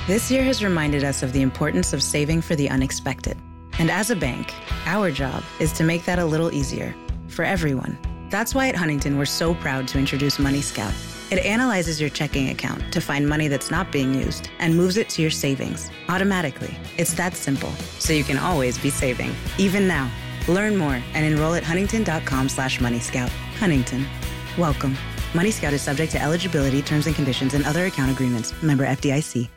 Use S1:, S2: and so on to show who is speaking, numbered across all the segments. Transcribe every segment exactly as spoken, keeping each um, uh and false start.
S1: This year has reminded us of the importance of saving for the unexpected. And as a bank, our job is to make that a little easier for everyone. That's why at Huntington, we're so proud to introduce Money Scout. It analyzes your checking account to find money that's not being used and moves it to your savings automatically. It's that simple, so you can always be saving, even now. Learn more and enroll at huntington.com slash moneyscout. Huntington. Welcome. Money Scout is subject to eligibility, terms and conditions, and other account agreements. Member F D I C.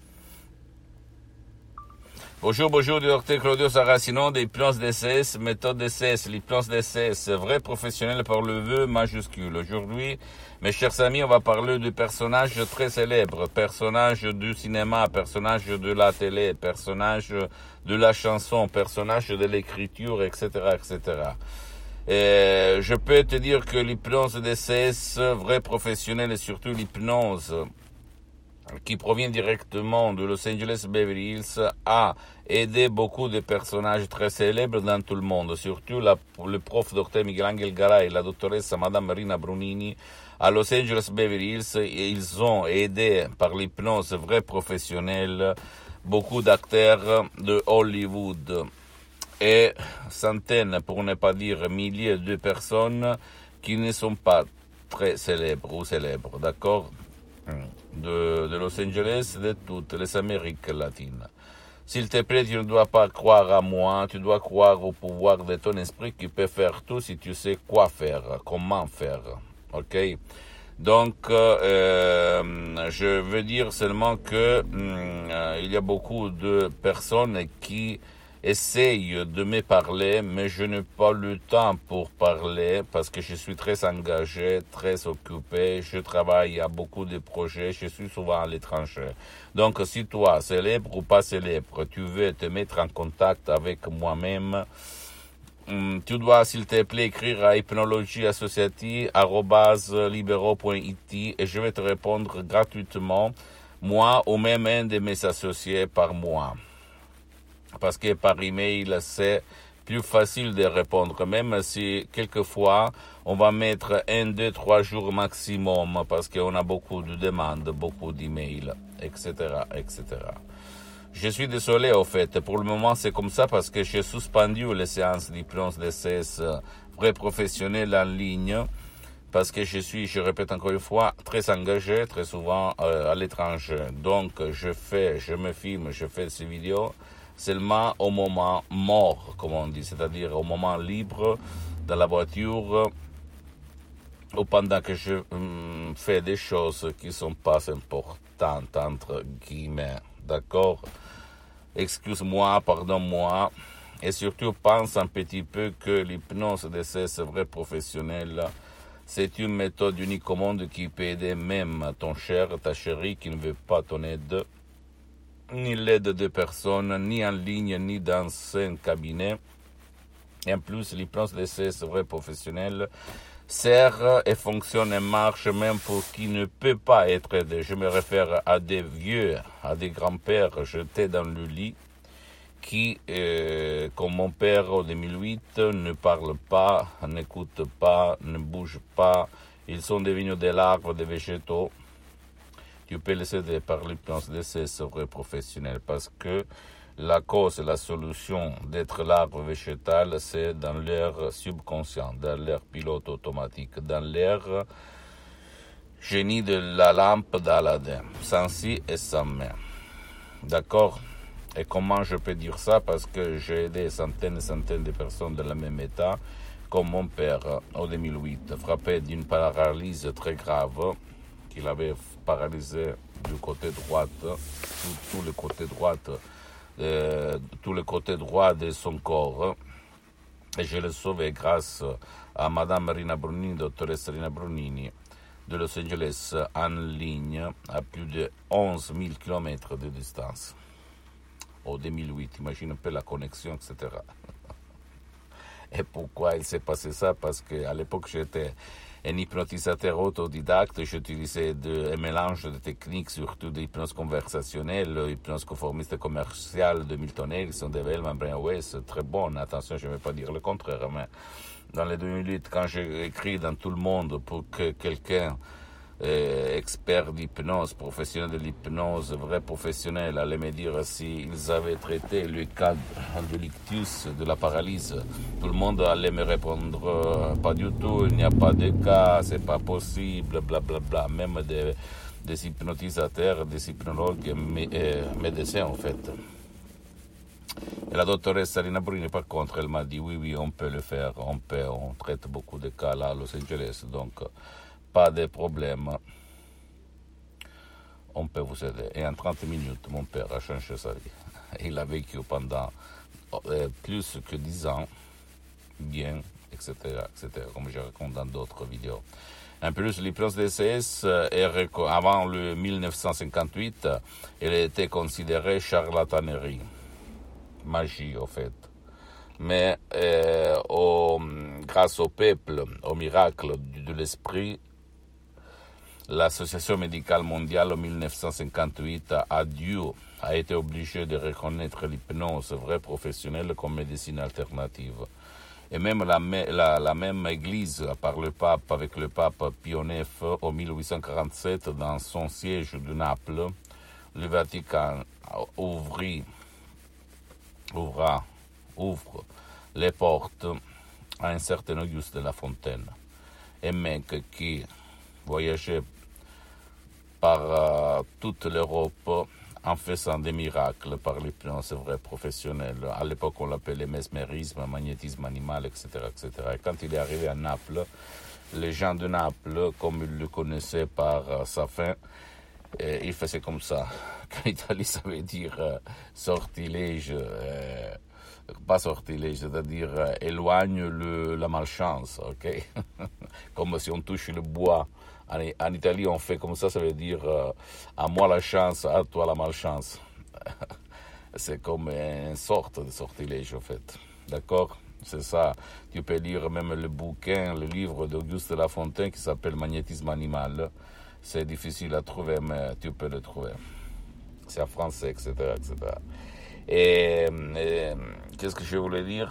S2: Bonjour, bonjour, du docteur Claudio Saracino de l'hypnose D C S, méthode D C S, l'hypnose D C S, vrai professionnel par le vœu majuscule. Aujourd'hui, mes chers amis, on va parler de personnages très célèbres, personnages du cinéma, personnages de la télé, personnages de la chanson, personnages de l'écriture, et cetera, et cetera. Et je peux te dire que l'hypnose D C S, vrai professionnel et surtout l'hypnose qui provient directement de Los Angeles Beverly Hills, a aidé beaucoup de personnages très célèbres dans tout le monde, surtout la, le prof docteur Miguel Angel Garay et la doctoresse Madame Marina Brunini à Los Angeles Beverly Hills. Ils ont aidé par l'hypnose vraie professionnelle beaucoup d'acteurs de Hollywood et centaines, pour ne pas dire milliers de personnes qui ne sont pas très célèbres ou célèbres, d'accord? De, de Los Angeles, de toutes les Amériques latines. S'il te plaît, tu ne dois pas croire à moi, tu dois croire au pouvoir de ton esprit qui peut faire tout si tu sais quoi faire, comment faire, ok? Donc, euh, je veux dire seulement que euh, il y a beaucoup de personnes qui essaye de me parler, mais je n'ai pas le temps pour parler parce que je suis très engagé, très occupé, je travaille à beaucoup de projets, je suis souvent à l'étranger. Donc, si toi, célèbre ou pas célèbre, tu veux te mettre en contact avec moi-même, tu dois, s'il te plaît, écrire à hypnologie associative arobase libero point it et je vais te répondre gratuitement, moi ou même un de mes associés par mois. Parce que par email, c'est plus facile de répondre, même si quelquefois, on va mettre un, deux, trois jours maximum, parce qu'on a beaucoup de demandes, beaucoup d'emails, et cetera, et cetera. Je suis désolé, au fait, pour le moment, c'est comme ça, parce que j'ai suspendu les séances d'hypnose D C S vrai professionnelles en ligne, parce que je suis, je répète encore une fois, très engagé, très souvent euh, à l'étranger. Donc, je fais, je me filme, je fais ces vidéos, seulement au moment mort, comme on dit, c'est-à-dire au moment libre, dans la voiture, ou pendant que je hum, fais des choses qui sont pas importantes, entre guillemets, d'accord? Excuse-moi, pardonne-moi, et surtout pense un petit peu que l'hypnose D C S vrai professionnel, c'est une méthode unique au monde qui peut aider même ton cher, ta chérie qui ne veut pas ton aide, ni l'aide de personnes, ni en ligne, ni dans un cabinet. Et en plus, l'hypnose D C S vrai professionnel sert et fonctionne et marche même pour qui ne peut pas être aidé. Je me réfère à des vieux, à des grands-pères jetés dans le lit qui, euh, comme mon père en deux mille huit, ne parlent pas, n'écoutent pas, ne bougent pas. Ils sont devenus des larves, des végétaux. Tu peux les aider par l'hypnose D C S vrai professionnel parce que la cause et la solution d'être l'arbre végétal, c'est dans leur subconscient, dans leur pilote automatique, dans leur génie de la lampe d'Aladin, sans si et sans mais. D'accord? Et comment je peux dire ça? Parce que j'ai aidé des centaines et centaines de personnes dans le même état, comme mon père en deux mille huit, frappé d'une paralysie très grave, qu'il avait paralysé du côté droit, tout, tout le côté droit, euh, tout le côté droit de son corps. Et je l'ai sauvé grâce à Madame Marina Brunini, doctoresse Marina Brunini, de Los Angeles, en ligne, à plus de onze mille kilomètres de distance. En deux mille huit, imagine un peu la connexion, et cetera. Et pourquoi il s'est passé ça? Parce qu'à l'époque, j'étais un hypnotisateur autodidacte. J'utilisais de, un mélange de techniques, surtout d'hypnose conversationnelle, hypnose conformiste commerciale de Milton Erickson, de Wellman, Brian Weiss, très bonne. Attention, je ne vais pas dire le contraire, mais dans les deux mille huit, quand j'ai écrit dans Tout le monde pour que quelqu'un euh, experts d'hypnose, professionnels de l'hypnose, vrais professionnels, allaient me dire s'ils avaient traité le cas de l'ictus, de la paralyse. Tout le monde allait me répondre euh, pas du tout, il n'y a pas de cas, c'est pas possible, blablabla. Bla, bla. Même des, des hypnotisateurs, des hypnologues et euh, médecins en fait. Et la doctoresse Sarina Bruni, par contre, elle m'a dit oui, oui, on peut le faire, on peut, on traite beaucoup de cas là à Los Angeles, donc pas de problème. On peut vous aider. Et en trente minutes, mon père a changé sa vie. Il a vécu pendant euh, plus que dix ans, bien, et cetera, et cetera, comme je raconte dans d'autres vidéos. En plus, l'hypnose D C S, avant le mille neuf cent cinquante-huit, elle était considérée charlatanerie. Magie, au fait. Mais euh, au, grâce au peuple, au miracle de l'esprit, l'Association médicale mondiale en mille neuf cent cinquante-huit a dû, a été obligée de reconnaître l'hypnose vraie professionnelle comme médecine alternative. Et même la, la, la même Église, par le pape, avec le pape Pie neuf, en mille huit cent quarante-sept, dans son siège de Naples, le Vatican ouvrit ouvra, ouvre les portes à un certain Auguste de la Fontaine, un mec qui voyageait par euh, toute l'Europe en faisant des miracles par l'hypnose vraie professionnelle. À l'époque, on l'appelait mesmérisme, magnétisme animal, et cetera, et cetera. Et quand il est arrivé à Naples, les gens de Naples, comme ils le connaissaient par euh, sa fin, et il faisait comme ça. En Italie, ça veut dire euh, sortilège, euh, pas sortilège, c'est-à-dire euh, éloigne le, la malchance, ok? Comme si on touche le bois. En, en Italie, on fait comme ça, ça veut dire euh, à moi la chance, à toi la malchance. C'est comme une sorte de sortilège, en fait. D'accord? C'est ça. Tu peux lire même le bouquin, le livre d'Auguste de la Fontaine qui s'appelle Magnétisme animal. C'est difficile à trouver, mais tu peux le trouver. C'est en français, et cetera, et cetera. Et, et qu'est-ce que je voulais dire?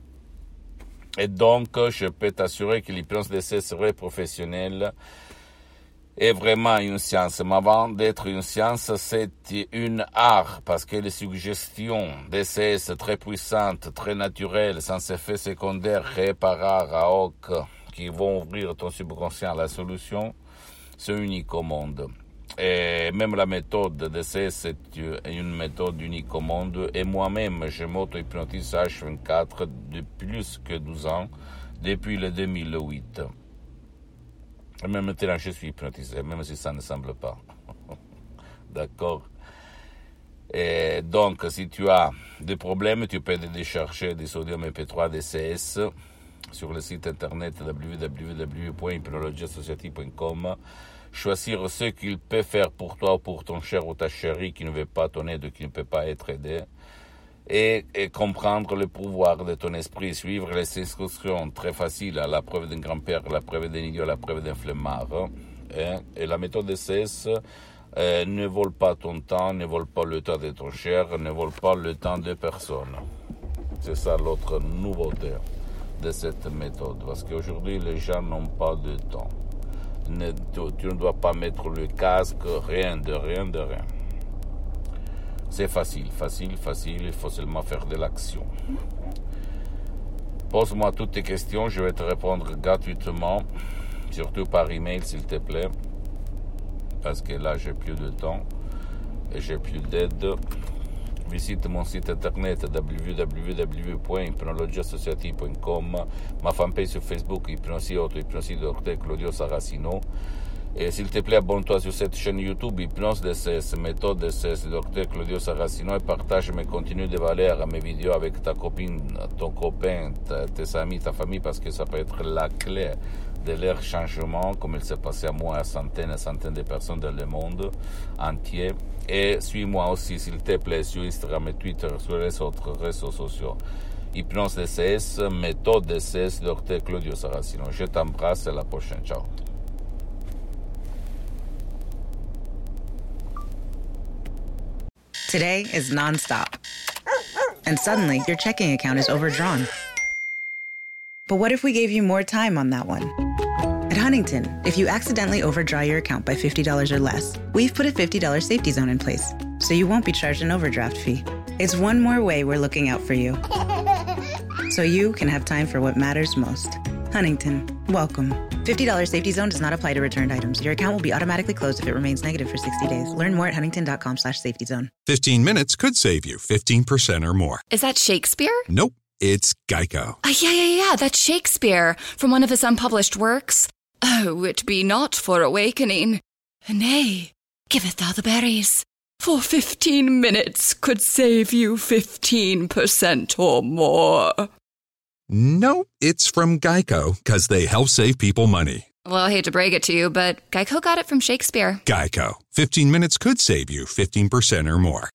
S2: Et donc, je peux t'assurer que l'hypnose D C S vraie professionnelle est vraiment une science. Mais avant d'être une science, c'est une art, parce que les suggestions D C S très puissantes, très naturelles, sans effet secondaire, réparables à hoc, qui vont ouvrir ton subconscient à la solution, c'est unique au monde. Et même la méthode D C S c'est une méthode unique au monde. Et moi-même, je m'auto-hypnotise H vingt-quatre depuis plus que douze ans, depuis le deux mille huit. Et même maintenant, je suis hypnotisé, même si ça ne semble pas. D'accord? Et donc, si tu as des problèmes, tu peux décharger des sodium M P trois D C S sur le site internet w w w point hypnologie associative point com. Choisir ce qu'il peut faire pour toi ou pour ton cher ou ta chérie qui ne veut pas ton aide, qui ne peut pas être aidé. Et, et comprendre le pouvoir de ton esprit, suivre les instructions très faciles, à la preuve d'un grand-père, la preuve d'un idiot, la preuve d'un flemmard. Et, et la méthode D C S euh, ne vole pas ton temps, ne vole pas le temps de ton cher, ne vole pas le temps de personne. C'est ça l'autre nouveauté de cette méthode, parce qu'aujourd'hui les gens n'ont pas de temps. Ne, tu, tu ne dois pas mettre le casque, rien de rien de rien. C'est facile, facile, facile, il faut seulement faire de l'action. Pose-moi toutes tes questions, je vais te répondre gratuitement, surtout par email s'il te plaît, parce que là j'ai plus de temps et j'ai plus d'aide. Visite mon site internet w w w point hypnologie associative point com, ma fanpage sur Facebook, Hypnosie Auto, Hypnosie Docteur Claudio Saracino. Et s'il te plaît, abonne-toi sur cette chaîne YouTube, Hypnose D C S, méthode D C S, Docteur Claudio Saracino, et partage mes contenus de valeur, mes vidéos avec ta copine, ton copain, ta, tes amis, ta famille, parce que ça peut être la clé de leur changement, comme il s'est passé à moi, à centaines et centaines de personnes dans le monde entier. Et suis-moi aussi, s'il te plaît, sur Instagram et Twitter, sur les autres réseaux sociaux. Hypnose D C S, méthode D C S, Docteur Claudio Saracino. Je t'embrasse, à la prochaine. Ciao.
S1: Today is nonstop. And suddenly, your checking account is overdrawn. But what if we gave you more time on that one? At Huntington, if you accidentally overdraw your account by fifty dollars or less, we've put a fifty dollars safety zone in place, so you won't be charged an overdraft fee. It's one more way we're looking out for you, so you can have time for what matters most. Huntington, welcome. fifty dollars safety zone does not apply to returned items. Your account will be automatically closed if it remains negative for sixty days. Learn more at huntington.com slash safety zone.
S3: fifteen minutes could save you fifteen percent or more.
S4: Is that Shakespeare?
S3: Nope, it's Geico.
S4: Uh, yeah, yeah, yeah, that's Shakespeare from one of his unpublished works. Oh, it be not for awakening. Nay, giveth thou the berries. For fifteen minutes could save you fifteen percent or more.
S3: No, it's from Geico, because they help save people money.
S4: Well, I hate to break it to you, but Geico got it from Shakespeare.
S3: Geico. fifteen minutes could save you fifteen percent or more.